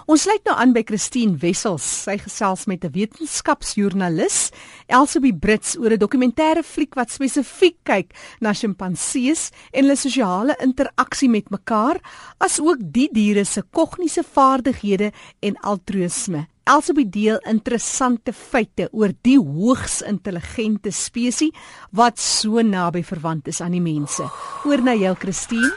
Ons sluit nou aan by Christine Wessels. Sy gesels met 'n wetenskapsjoernalis, Elsabie Brits, oor 'n dokumentêre fliek wat spesifiek kyk na sjimpansees en hulle sosiale interaksie met mekaar, asook die diere se kognitiewe vaardighede en altruïsme. Elsabie deel interessante feite oor die hoogs intelligente spesies wat so naby verwant is aan die mense. Oor na jou, Christine.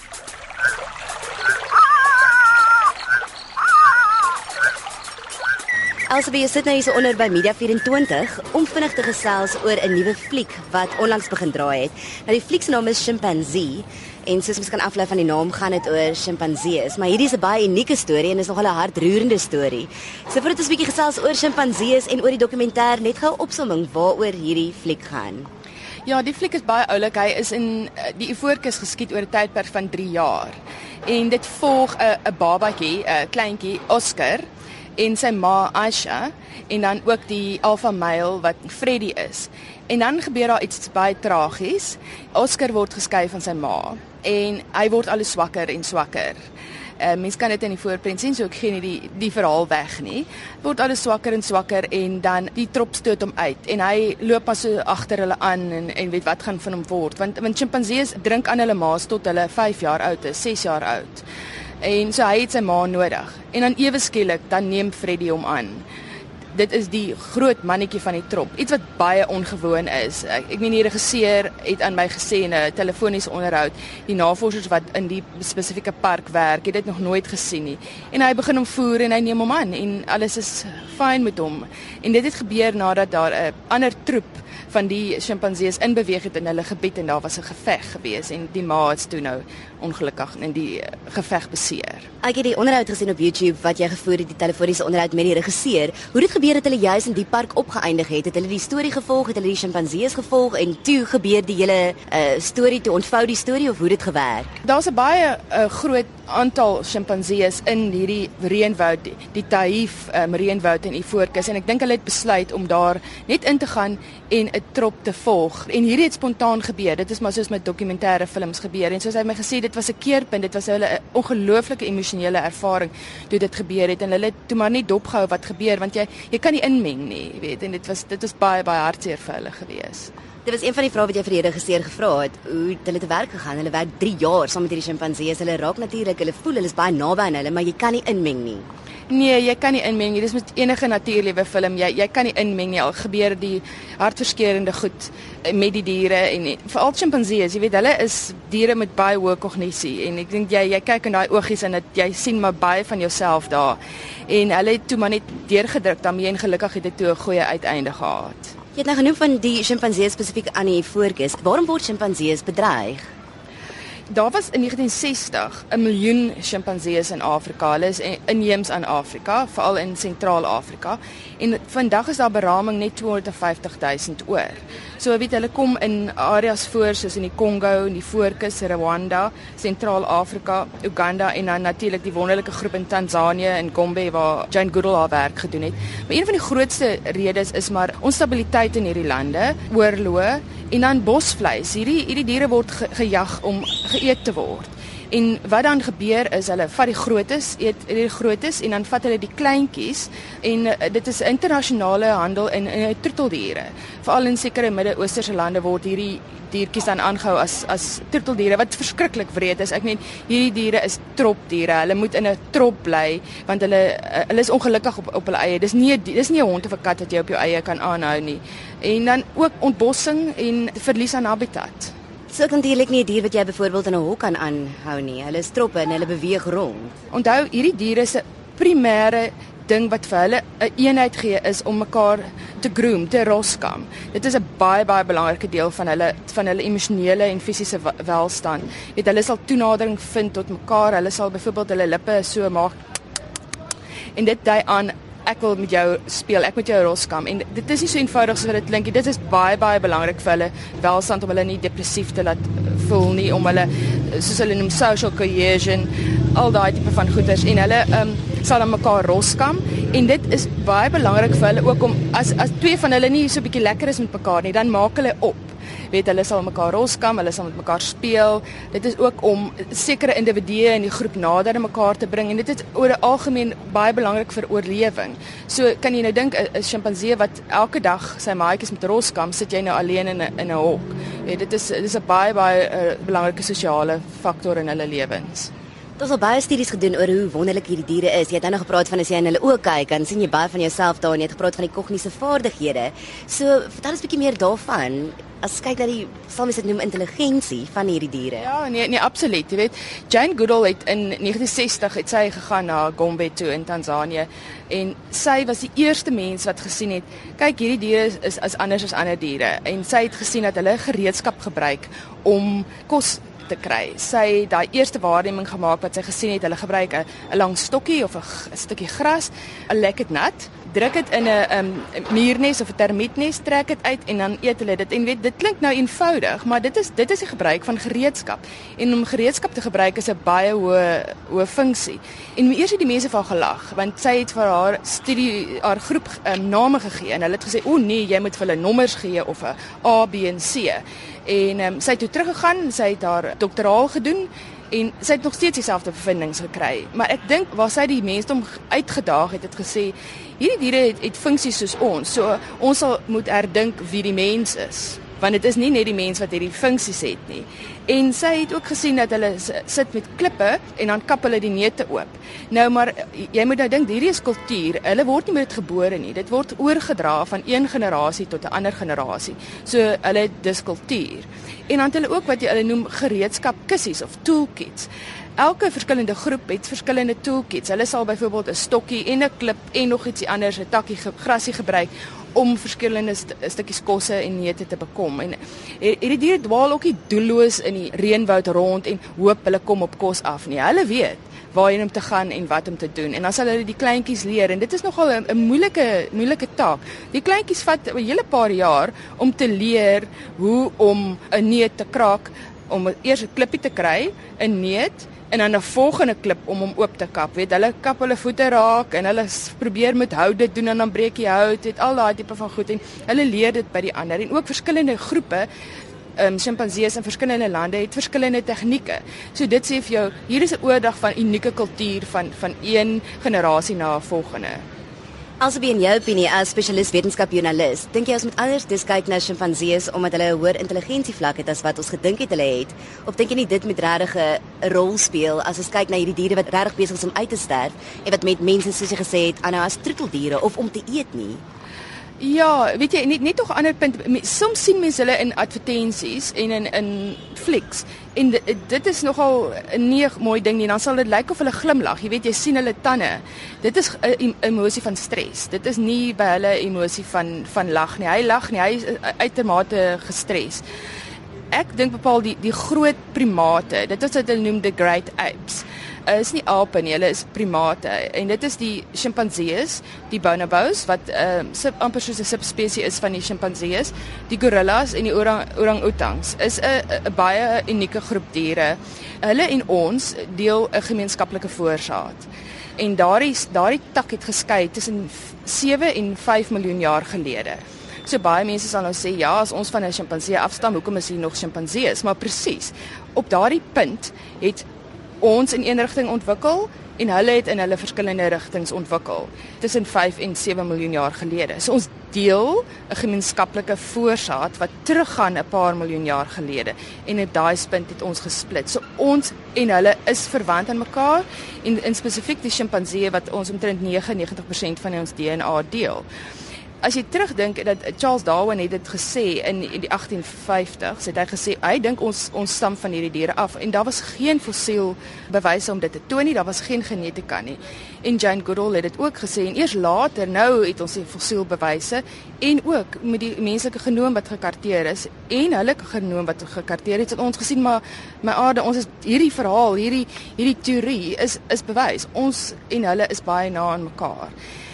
Elsabie, jy sit nou hier onder by Media 24 om vinnig te gesels oor 'n nuwe fliek wat onlangs begin draai het. Nou die fliek se naam is Chimpanzee en soos ons kan aflei van die naam gaan dit oor sjimpansees, maar hierdie is 'n baie unieke storie en is nogal 'n hartroerende storie. So voordat ons 'n bietjie gesels oor sjimpansees en oor die dokumentêr, net gou 'n opsomming waaroor hierdie fliek gaan. Ja, die fliek is baie oulik. Hy is in die Ivoorkus geskied oor 'n tydperk van 3 jaar. En dit volg 'n babatjie, 'n kleintjie, Oscar, en sy ma Aisha, en dan ook die alpha male wat Freddy is. En dan gebeur daar iets baie tragies. Oscar word geskei van sy ma en hy word al swakker en swakker. Mens kan dit in die voorprent sien, so ek gee nie die verhaal weg nie. Word al swakker en swakker en dan die trop stoot hom uit en hy loop maar so agter hulle aan en weet wat gaan van hom word, want sjimpansees drink aan hulle ma's tot hulle 5 jaar oud is, 6 jaar oud. En so hy het sy ma nodig. En dan ewe skielik, dan neem Freddy hom aan. Dit is die groot mannetjie van die trop. Iets wat baie ongewoon is. Ek meen die regisseur het aan my gesê in 'n telefoniese onderhoud, die navorsers wat in die spesifieke park werk, het dit nog nooit gesien nie. En hy begin hom voer en hy neem hom aan en alles is fyn met hom. En dit het gebeur nadat daar 'n ander troep van die sjimpansees inbeweeg het in hulle gebied en daar was 'n geveg gewees en die ma het toe nou ongelukkig in die geveg beseer. Ek het die onderhoud gesien op YouTube wat jy gevoer het, die telefoniese onderhoud met die regisseur. Hoe dit gebeur het hulle juis in die park opgeëindig het hulle die storie gevolg, het hulle die sjimpansees gevolg en toe gebeur die hele storie, toe ontvou die storie of hoe dit gewerk? Daar's 'n baie groot aantal sjimpansees in hierdie reënwoud, die Taif reënwoud in Ivoorkus en ek dink hulle het besluit om daar net in te gaan en 'n trop te volg. En hierdie het spontaan gebeur. Dit is maar soos met dokumentêre films gebeur. En soos hy my gesê, dit was 'n keerpunt. Dit was hulle 'n ongelooflike emosionele ervaring toe dit gebeur het en hulle het toe maar nie dopgehou wat gebeur want jy kan nie inmeng nie, jy weet. En dit was baie hartseer vir hulle gewees. Dit was een van die vrae wat jy vir die regisseur gevra het. Hoe het hulle te werk gegaan? Hulle werk 3 jaar saam met hierdie sjimpansees. Hulle raak natuurlik, hulle voel hulle is baie naby aan hulle, maar jy kan nie inmeng nie. Nee, jy kan nie inmeng nie. Dis met enige natuurlike film. Jy kan nie inmeng nie. Al gebeur die hartverskeurende goed met die diere en veral sjimpansees, jy weet, hulle is diere met baie hoë kognisie en ek dink jy kyk in daai oogies en jy sien maar baie van jouself daar. En hulle het toe maar net deurgedruk daarmee en gelukkig het dit toe 'n goeie uiteinde gehad. Jy het nou genoem van die sjimpansees spesifiek aan die Ivoorkus. Waarom word sjimpansees bedreig? Daar was in 1960 1 miljoen sjimpansees in Afrika. Hulle is inheems aan Afrika, veral in Sentraal-Afrika. En vandag is daar beraming net 250,000 oor. So weet hulle kom in areas voor soos in die Kongo, in die Ivoorkus, Rwanda, Sentraal-Afrika, Uganda en dan natuurlik die wonderlike groep in Tanzanië en Gombe waar Jane Goodall haar werk gedoen het. Maar een van die grootste redes is maar onstabiliteit in hierdie lande, oorloë en dan bosvleis. Hierdie diere word gejag om geëet te word. En wat dan gebeur is hulle vat die grootes, eet die grootes en dan vat hulle die kleintjies en dit is internasionale handel in troeteldiere. Veral in sekere Midde-Oosterse lande word hierdie diertjies dan aangehou as troeteldiere wat verskriklik wreed is. Ek meen hierdie diere is tropdiere. Hulle moet in 'n trop bly want hulle is ongelukkig op hulle eie. Dis nie 'n hond of 'n kat wat jy op jou eie kan aanhou nie. En dan ook ontbossing en verlies aan habitat. So kan natuurlik nie 'n dier wat jy byvoorbeeld in 'n hok kan aanhou nie. Hulle is troppe en hulle beweeg rond. Onthou, hierdie diere se primêre ding wat vir hulle 'n eenheid gee is om mekaar te groom, te roskam. Dit is 'n baie belangrike deel van hulle emosionele en fisiese welstand. Weet hulle sal toenadering vind tot mekaar. Hulle sal byvoorbeeld hulle lippe so maak en dit dui aan ek wil met jou speel, ek met jou roskam. En dit is nie so eenvoudig soos wat dit klink nie. Dit is baie belangrik vir hulle welstand om hulle nie depressief te laat voel nie, om hulle soos hulle noem social cohesion, al daai tipe van goeders en hulle sal dan mekaar roskam en dit is baie belangrik vir hulle ook om as twee van hulle nie so 'n bietjie lekker is met mekaar nie, dan maak hulle op. Weet, hulle sal mekaar roskam, hulle sal met mekaar speel. Dit is ook om sekere individue in die groep nader aan mekaar te bring en dit is oor 'n algemeen baie belangrik vir oorlewing. So kan jy nou dink 'n sjimpansee wat elke dag sy maatjies met roskam, sit jy nou alleen in 'n hok. Weet, dit is 'n baie belangrike sosiale faktor in hulle lewens. Daar is al baie studies gedoen oor hoe wonderlik hierdie diere is. Jy het nou gepraat van as jy in hulle oë kyk, dan sien jy baie van jouself daar en jy het gepraat van die kognitiewe vaardighede. So, vertel ons 'n bietjie meer daarvan. As kyk na die, sal mens dit noem, intelligensie van hierdie diere. Ja, nee, absoluut. Jy weet, Jane Goodall het in 1960 het sy gegaan na Gombe toe in Tansanië en sy was die eerste mens wat gesien het, kyk, hierdie diere is anders as ander diere en sy het gesien dat hulle gereedskap gebruik om kos te kry. Sy het daai eerste waarneming gemaak wat sy gesien het, hulle gebruik 'n lang stokkie of 'n stukkie gras, 'n lek dit nat, druk dit in 'n muurnes of 'n termietnes, trek dit uit en dan eet hulle dit. En weet, dit klink nou eenvoudig, maar dit is die gebruik van gereedskap. En om gereedskap te gebruik is 'n baie hoë funksie. En eers het die mense van gelag, want sy het vir haar groep name gegee en hulle het gesê, "O nee, jy moet vir hulle nommers gee of 'n A, B en C." En sy het toe teruggegaan, sy het haar doktoraal gedoen en sy het nog steeds dieselfde bevindinge gekry. Maar ek dink waar sy die mense uitgedaag het gesê, hierdie diere het funksies soos ons. So ons sal moet herdink wie die mens is, want dit is nie net die mens wat hierdie funksies het nie. En sy het ook gesien dat hulle sit met klippe en dan kap hulle die neute oop. Nou maar jy moet nou dink, hierdie is kultuur. Hulle word nie met dit gebore nie. Dit word oorgedra van een generasie tot 'n ander generasie. So hulle het dis kultuur. En dan het hulle ook wat hulle noem gereedskapkissies of toolkits. Elke verskillende groep het verskillende toolkits. Hulle sal byvoorbeeld 'n stokkie en 'n klip en nog ietsie anders, 'n takkie grasie gebruik om verskillende stukkies kosse en neute te bekom. En hierdie diere dwaal ook nie doelloos in die reënwoud rond en hoop hulle kom op kos af nie. Hulle weet waarheen om te gaan en wat om te doen. En dan sal hulle die kleintjies leer en dit is nogal 'n moeilike taak. Die kleintjies vat 'n hele paar jaar om te leer hoe om 'n neut te kraak, om eers 'n klippie te kry, 'n neut en dan 'n volgende klip om hom oop te kap. Weet, hulle kap hulle voete raak en hulle probeer met hout dit doen en dan breek die hout, het al daai tipe van goed en hulle leer dit by die ander. En ook verskillende groepe sjimpansees in verskillende lande het verskillende tegnieke. So dit sê vir jou, hier is 'n oordrag van unieke kultuur van een generasie na 'n volgende. Alsoos in jou opinie as spesialis wetenskapjoernalis, dink jy ons moet anders kyk na sjimpansees omdat hulle 'n hoër intelligensievlak het as wat ons gedink het hulle het? Of dink jy nie dit moet regtig 'n rol speel as ons kyk na hierdie diere wat regtig besig is om uit te sterf en wat met mense soos jy gesê het aanhou as troeteldiere of om te eet nie? Ja, weet jy, net nog 'n ander punt. Soms sien mense hulle in advertensies en in flieks. En dit is nogal 'n nie mooi ding nie. Dan sal dit lyk of hulle glimlag. Jy weet, jy sien hulle tande. Dit is 'n emosie van stres. Dit is nie by hulle emosie van lag nie. Hy lag nie. Hy is uitermate gestres. Ek dink bepaal die groot primate, dit is wat hulle noem the great apes. Is nie ape nie, hulle is primate en dit is die sjimpansees, die bonobos wat amper soos 'n subspesie is van die sjimpansees, die gorillas en die orang-outangs is 'n baie unieke groep diere. Hulle en ons deel 'n gemeenskaplike voorsaat. En daardie tak het geskei tussen 7 en 5 miljoen jaar gelede. So baie mense sal nou sê, ja, as ons van 'n sjimpansee afstam, hoekom is hier nog sjimpansees? Maar presies, op daardie punt het ons in een rigting ontwikkel en hulle het in hulle verskillende rigtings ontwikkel tussen 5 en 7 miljoen jaar gelede. So ons deel 'n gemeenskaplike voorsaat wat teruggaan 'n paar miljoen jaar gelede en op daai punt het ons gesplit. So ons en hulle is verwant aan mekaar en spesifiek die sjimpansee wat ons omtrent 99% van ons DNA deel. As jy terugdink dat Charles Darwin het dit gesê in die 1850s, het hy gesê hy dink ons stam van hierdie diere af en daar was geen fossiel bewyse om dit te toon nie, daar was geen genetika nie. En Jane Goodall het dit ook gesê en eers later nou het ons die fossiel bewyse en ook met die menslike genoom wat gekarteer is en hulle genoom wat gekarteer het ons gesien maar my aarde, ons is hierdie verhaal, hierdie teorie is bewys. Ons en hulle is baie na aan mekaar.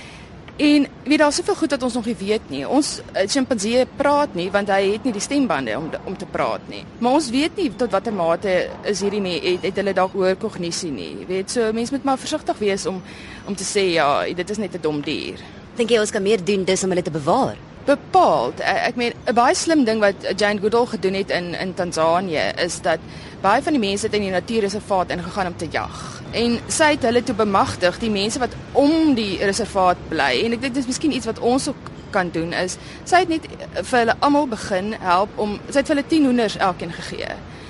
En weet daar soveel goed dat ons nog nie weet nie. Ons sjimpansee praat nie want hy het nie die stembande om te praat nie. Maar ons weet nie tot watter mate is hierdie het hulle dalk hoër kognisie nie. Weet so mense moet maar versigtig wees om te sê ja, dit is net 'n dom dier. Dink jy ons kan meer doen dis om hulle te bewaar? Bepaald. Ek meen 'n baie slim ding wat Jane Goodall gedoen het in Tansanië is dat baie van die mense het in die natuurreservaat ingegaan om te jag. En sy het hulle toe bemagtig, die mense wat om die reservaat bly. En ek dink dis miskien iets wat ons ook kan doen is sy het net vir hulle almal begin help sy het vir hulle 10 hoenders elkeen gegee.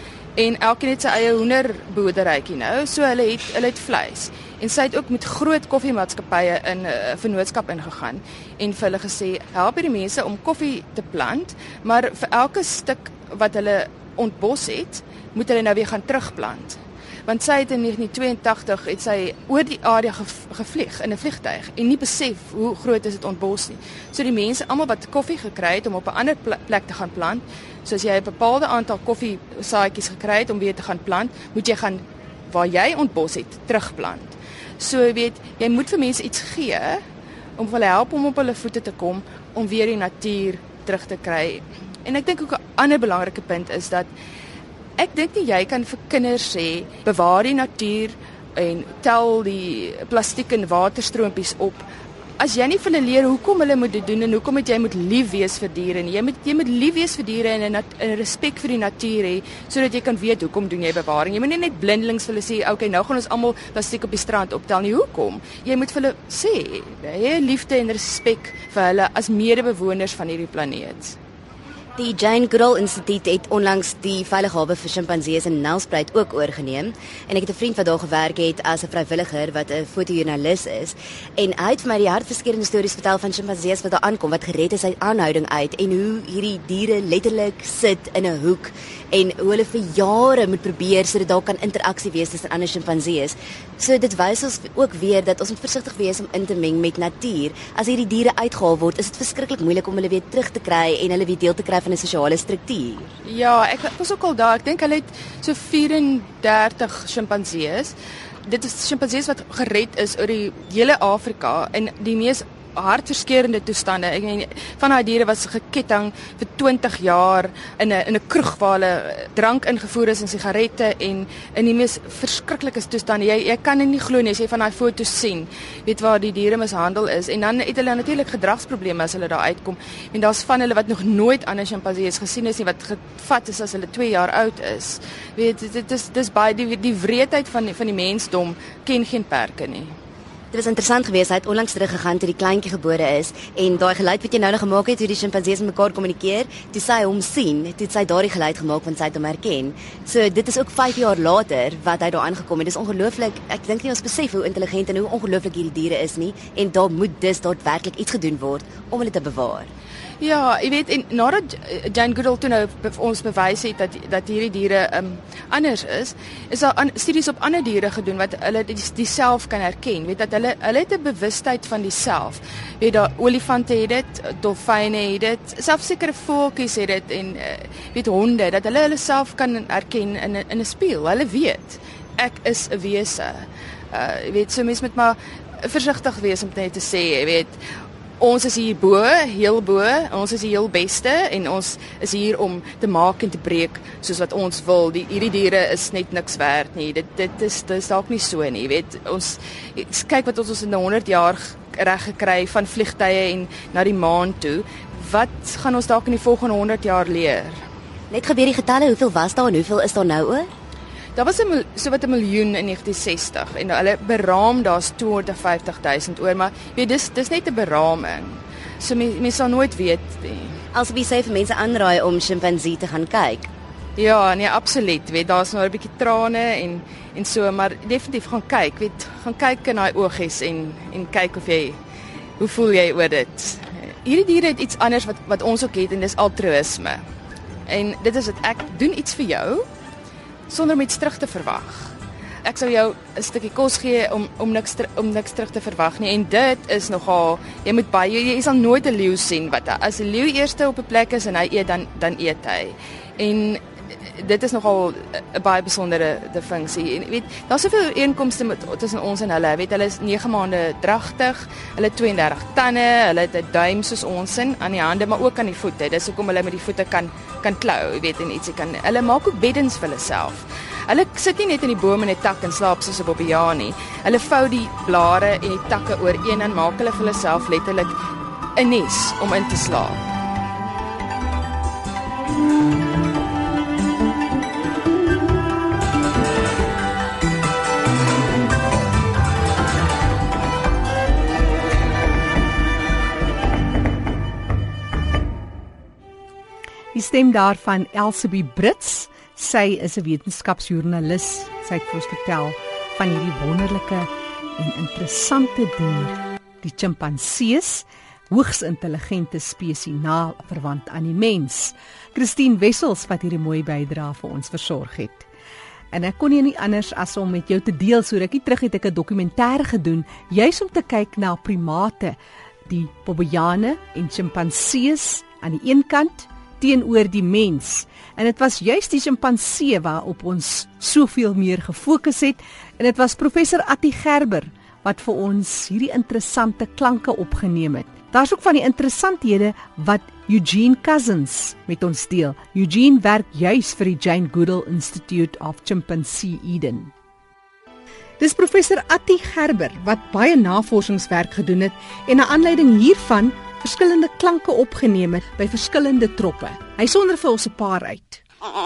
En elkeen het sy eie hoenderboerderytjie nou, so hulle het vleis. En sy het ook met groot koffiemaatskappye in 'n vennootskap ingegaan en vir hulle gesê, help hierdie mense om koffie te plant, maar vir elke stuk wat hulle ontbos het, moet hulle nou weer gaan terugplant. Want sy het in 1982 het sy oor die area gevlieg in 'n vliegtuig en nie besef hoe groot is dit ontbos nie. So die mense almal wat koffie gekry het om op 'n ander plek te gaan plant, soos jy 'n bepaalde aantal koffiesaadjies gekry het om weer te gaan plant, moet jy gaan waar jy ontbos het terugplant. So jy moet vir mense iets gee om hulle help om op hulle voete te kom om weer die natuur terug te kry. En ek dink ook 'n ander belangrike punt is dat ek dink nie jy kan vir kinders sê bewaar die natuur en tel die plastiek en waterstroompies op as jy nie vir hulle leer hoekom hulle moet dit doen en hoekom jy moet lief wees vir diere nie. Jy moet lief wees vir diere en 'n respek vir die natuur hê sodat jy kan weet hoekom doen jy bewaring. Jy moet nie net blindelings vir hulle sê, okay, nou gaan ons almal plastiek op die strand optel nie. Hoekom? Jy moet vir hulle sê, hê liefde en respek vir hulle as medebewoners van hierdie planeet. Die Jane Goodall Instituut het onlangs die veilige hawe vir sjimpansees in Nelspruit ook oorgeneem en ek het 'n vriend wat daar gewerk het as 'n vrywilliger wat 'n fotojoernalis is en hy het vir my die hartverskeurende stories vertel van sjimpansees wat daar aankom wat gered is uit aanhouding uit en hoe hierdie diere letterlik sit in 'n hoek en hoe hulle vir jare moet probeer sodat daar kan interaksie wees tussen ander sjimpansees. So dit wys ons ook weer dat ons moet versigtig wees om in te meng met natuur. As hierdie diere uitgehaal word, is dit verskriklik moeilik om hulle weer terug te kry en hulle weer deel te kry van 'n sosiale struktuur. Ja, ek was ook al daar. Ek dink hulle het so 34 sjimpansees. Dit is sjimpansees wat gered is oor die hele Afrika in die mees hartverskeurende toestande. Ek meen van daai diere was geketting vir 20 jaar in 'n kroeg waar hulle drank ingevoer is en sigarette en in die mees verskriklike toestande. Jy kan dit nie glo nie as jy van daai foto's sien. Weet waar die diere mishandel is en dan het hulle natuurlik gedragsprobleme as hulle daar uitkom. En daar's van hulle wat nog nooit ander sjimpansees gesien is nie wat gevat is as hulle 2 jaar oud is. Weet dit is baie die wreedheid van die mensdom ken geen perke nie. Dit was interessant geweest, hy het onlangs teruggegaan toe die kleintjie gebore is en daai geluid wat jy nou gemaak het, hoe die sjimpansees met mekaar kommunikeer, toe sy hom sien, toe het sy daardie geluid gemaak want sy het hom herken. So dit is ook 5 jaar later wat hy daar aangekom het. Dis ongelooflik. Ek dink nie ons besef hoe intelligent en hoe ongelooflik hierdie diere is nie en daar moet dus daadwerklik iets gedoen word om hulle te bewaar. Ja, jy weet en nadat Jane Goodall toe nou ons bewys het dat hierdie diere anders is daar studies op ander diere gedoen wat hulle die self kan herken. Weet dat hulle het 'n bewustheid van die self. Weet daar olifante het dit, dolfyne het dit, selfs sekere voeltjies het dit en weet honde dat hulle self kan herken in 'n spieël. Hulle weet ek is 'n wese. Jy weet so mens moet maar versigtig wees om net te sê, jy weet ons is hier heel bo, ons is die heel beste en ons is hier om te maak en te breek soos wat ons wil. Hierdie diere is net niks werd nie. Dit is dalk nie so nie, jy weet. Ons kyk wat ons in 100 jaar reg gekry van vliegtye en na die maan toe. Wat gaan ons dalk in die volgende 100 jaar leer? Net gebeur die getalle, hoeveel was daar en hoeveel is daar nou oor? Daar was so wat 1 miljoen in 1960 en hulle beraam daar's 250.000 oor, maar weet dis net 'n beraming. So mens sal nooit weet nie. Alsoos sê vir mense aanraai om sjimpansee te gaan kyk. Ja, nee, absoluut. Weet daar's nou 'n bietjie trane en so, maar definitief gaan kyk, weet, gaan kyk in daai oogies en kyk hoe voel jy oor dit. Hierdie diere het iets anders wat ons ook het en dis altruïsme. En dit is dat ek doen iets vir jou sonder om iets terug te verwag. Ek sou jou 'n stukkie kos gee om niks terug te verwag nie en dit is nogal jy sal nooit 'n leeu sien wat as 'n leeu eerste op 'n plek is en hy eet dan eet hy. En dit is nogal 'n baie besondere funksie. En weet, daar's soveel ooreenkomste tussen ons en hulle. Weet, hulle is 9 maande dragtig, hulle het 32 tande, hulle het 'n duim soos ons aan die hande, maar ook aan die voete. Dis hoekom hulle met die voete kan klou, weet, en ietsie kan. Hulle maak ook beddens vir hulle self. Hulle sit nie net in die boom in 'n tak en slaap soos 'n bobbejaan nie. Hulle vou die blare en die takke ooreen en maak hulle vir hulle self letterlik 'n nes om in te slaap. Die stem daarvan Elsabie Brits. Sy is 'n wetenskapsjoernalis. Sy het vir ons vertel van hierdie wonderlike en interessante dier, die chimpansees, hoogs intelligente spesies na verwant aan die mens. Christine Wessels wat hierdie mooi bydrae vir ons versorg het. En ek kon nie anders as om met jou te deel, so rukkie terug het ek 'n dokumentêr gedoen, juis om te kyk na primate, die bobbejane en chimpansees aan die een kant, teenoor die mens. En dit was juist die chimpansee waarop ons soveel meer gefokus het, en dit was professor Attie Gerber wat vir ons hierdie interessante klanke opgeneem het. Daar's ook van die interessanthede wat Eugene Cousins met ons deel. Eugene werk juis vir die Jane Goodall Institute of Chimpanzee Eden. Dis professor Attie Gerber wat baie navorsingswerk gedoen het en na aanleiding hiervan verskillende klanke opgeneem het by verskillende troppe. Hy sonder vir ons 'n paar uit.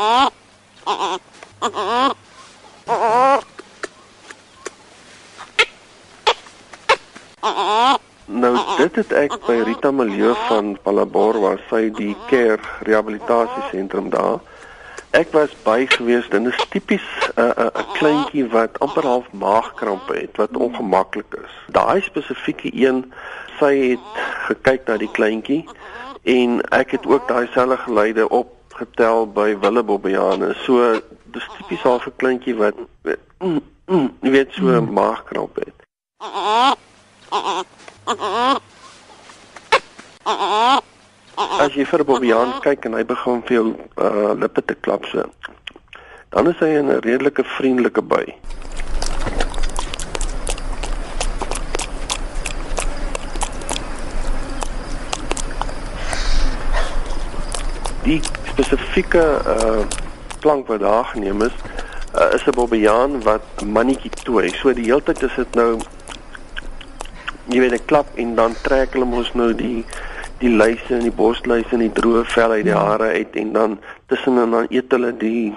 Nou, dit het ek by Rita Milieu van Palabor, waar sy die care rehabilitasiesentrum daar. Ek was by gewees, dit is tipies 'n kleintjie wat amper half maagkrampe het, wat ongemaklik is. Daai spesifieke een, sy het gekyk na die kleintjie en ek het ook daai selfde geluide opgetel by willebobbejane. So dis tipies half 'n kleintjie wat jy weet so 'n maagkramp het. As jy vir 'n bobbejaan kyk en hy begin vir jou lippe te klap so, dan is hy in 'n redelike vriendelike bui. Die spesifieke klank wat daar geneem is 'n bobbejaan wat 'n mannetjie tooi. So die hele tyd is dit nou, jy weet, 'n klap en dan trek hulle mos nou die luise en die borsluise en die droë vel uit die hare uit en dan tussen en dan eet hulle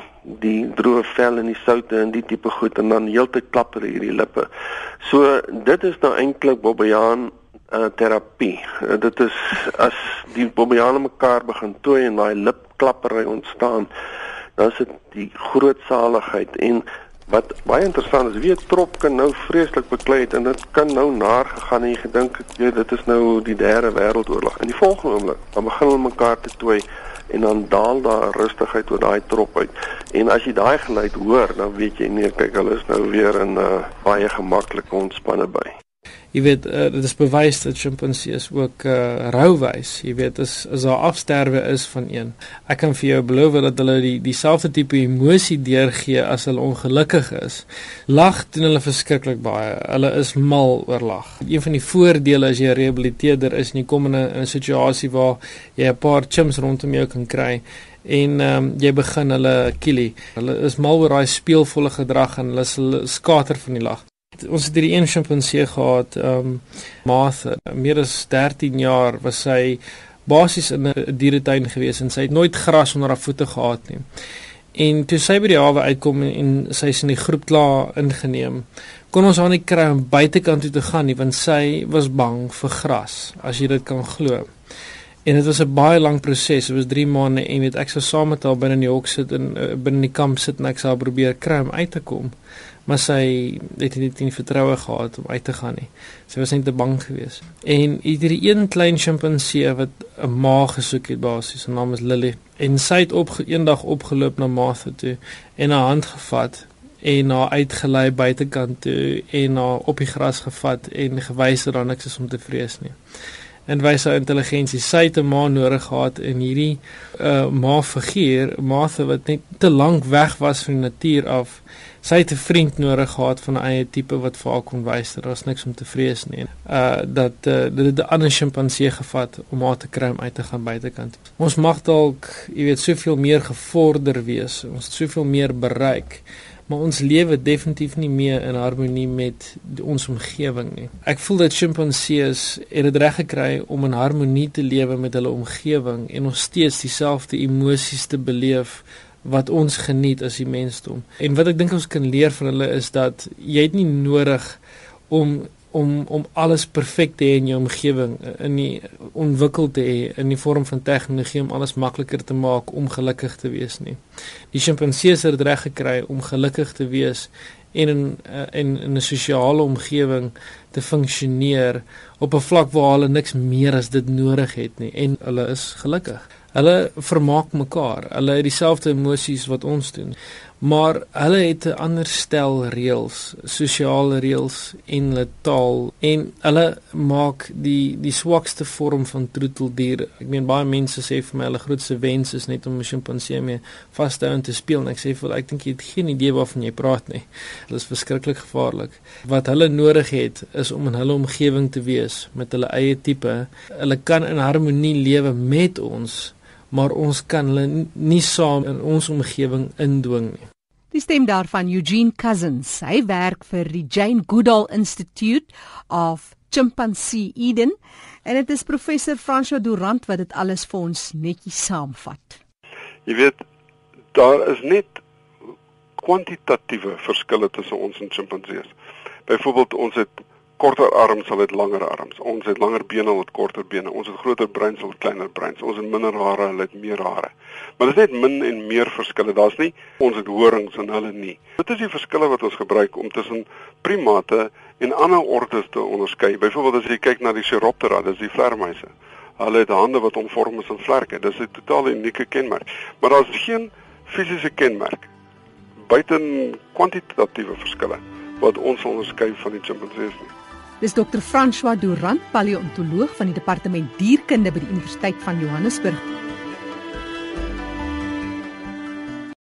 die droë vel en die soute en die tipe goed en dan heeltyd klap hulle hierdie lippe. So dit is nou eintlik bobbejaan terapie. Dit is as die bobbejane mekaar begin tooi en daai lipklappery ontstaan, dan is dit die groot saligheid. En wat baie interessant is, wie 'n trop kan nou vreeslik beklei het en dit kan nou naar gegaan en jy gedink, dit is nou die derde wêreldoorlog. In die volgende oomblik, dan begin hulle mekaar te tooi en dan daal daar rustigheid oor daai trop uit. En as jy daai geluid hoor, dan weet jy nee, kyk, hulle is nou weer in baie gemaklike ontspanne by. Jy weet, dit is bewys dat chimpansees ook rou wys. Jy weet, as daar afsterwe is van een. Ek kan vir jou beloof dat hulle dieselfde tipe emosie deurgee as hulle ongelukkig is. Lag doen hulle verskriklik baie. Hulle is mal oor lag. Een van die voordele as jy 'n rehabiliteerder is en jy kom in 'n situasie waar jy 'n paar chimps rondom jou kan kry en jy begin hulle kielie. Hulle is mal oor daai speelvolle gedrag en hulle skater van die lag. Ons het hierdie een chimpansee gehad, Martha, meer as 13 jaar was sy basies in 'n dieretuin gewees en sy het nooit gras onder haar voete gehad nie. En toe sy by die hawe uitkom en sy is in die groep klaar ingeneem, kon ons haar nie kry om buitekant toe te gaan nie, want sy was bang vir gras, as jy dit kan glo. En dit was 'n baie lang proses, dit was 3 maande en weet ek sou saam met haar binne in die hok sit en binne die kamp sit en ek sou probeer kry om uit te kom. Maar sy het nie vertroue gehad om uit te gaan nie. Sy was net te bang geweest. En hierdie een klein chimpansee wat 'n ma gesoek het basies, sy naam is Lily. En sy het eendag opgeloop na Martha toe en haar hand gevat en haar uitgelei buitekant toe en haar op die gras gevat en gewys dat daar niks is om te vrees nie. En wys haar intelligensie. Sy het 'n ma nodig gehad en hierdie ma-figuur, Martha, wat net te lank weg was van die natuur af. Sy het 'n vriend nodig gehad van 'n eie tipe wat vir haar kon wys dat daar is niks om te vrees nie. Dat dit 'n ander chimpansee gevat om haar te kry om uit te gaan buitekant. Ons mag dalk, jy weet, soveel meer gevorder wees. Ons het soveel meer bereik. maar ons lewe definitief nie meer in harmonie met ons omgewing nie. Ek voel dat sjimpansees het dit reg gekry om in harmonie te lewe met hulle omgewing en nog steeds dieselfde emosies te beleef wat ons geniet as die mensdom. En wat ek dink ons kan leer van hulle is dat jy het nie nodig om alles perfek te hê in jou omgewing, in die ontwikkel te hê in die vorm van tegnologie om alles makliker te maak om gelukkig te wees nie. Die sjimpansees het dit reg gekry om gelukkig te wees en in 'n sosiale omgewing te funksioneer op 'n vlak waar hulle niks meer as dit nodig het nie en hulle is gelukkig. Hulle vermaak mekaar. Hulle het dieselfde emosies wat ons doen. Maar hulle het 'n ander stel reëls, sosiale reëls en hulle taal en hulle maak die swakste vorm van troeteldier. Ek meen baie mense sê vir my hulle grootste wens is net om 'n sjimpansee mee vas te hou en te speel en ek sê vir ek dink jy het geen idee waarvan jy praat nie. Dit is verskriklik gevaarlik. Wat hulle nodig het is om in hulle omgewing te wees met hulle eie tipe. Hulle kan in harmonie lewe met ons, maar ons kan hulle nie saam in ons omgewing indwing nie. Die stem daarvan Eugene Cousins. Hy werk vir die Jane Goodall Institute of Chimpanzee Eden en dit is professor François Durant wat dit alles vir ons netjies saamvat. Jy weet, daar is net kwantitatiewe verskille tussen ons en chimpansees. Byvoorbeeld ons het korter arms, hulle het langer arms. Ons het langer bene, hulle het korter bene. Ons het groter breins, hulle het kleiner breins. Ons het minder hare, hulle het meer hare. Maar dit is net min en meer verskille. Daar's nie ons het horings en hulle nie. Dit is die verskille wat ons gebruik om tussen primate en ander ordes te onderskei. Byvoorbeeld as jy kyk na die Chiroptera, dis die vlermuise. Hulle het hande wat omvorm is in vlerke. Dis 'n totaal unieke kenmerk. Maar daar's geen fisiese kenmerk buiten kwantitatiewe verskille wat ons onderskei van die chimpansees nie. Dis Dr. François Durant, paleontoloog van die departement dierkunde by die Universiteit van Johannesburg.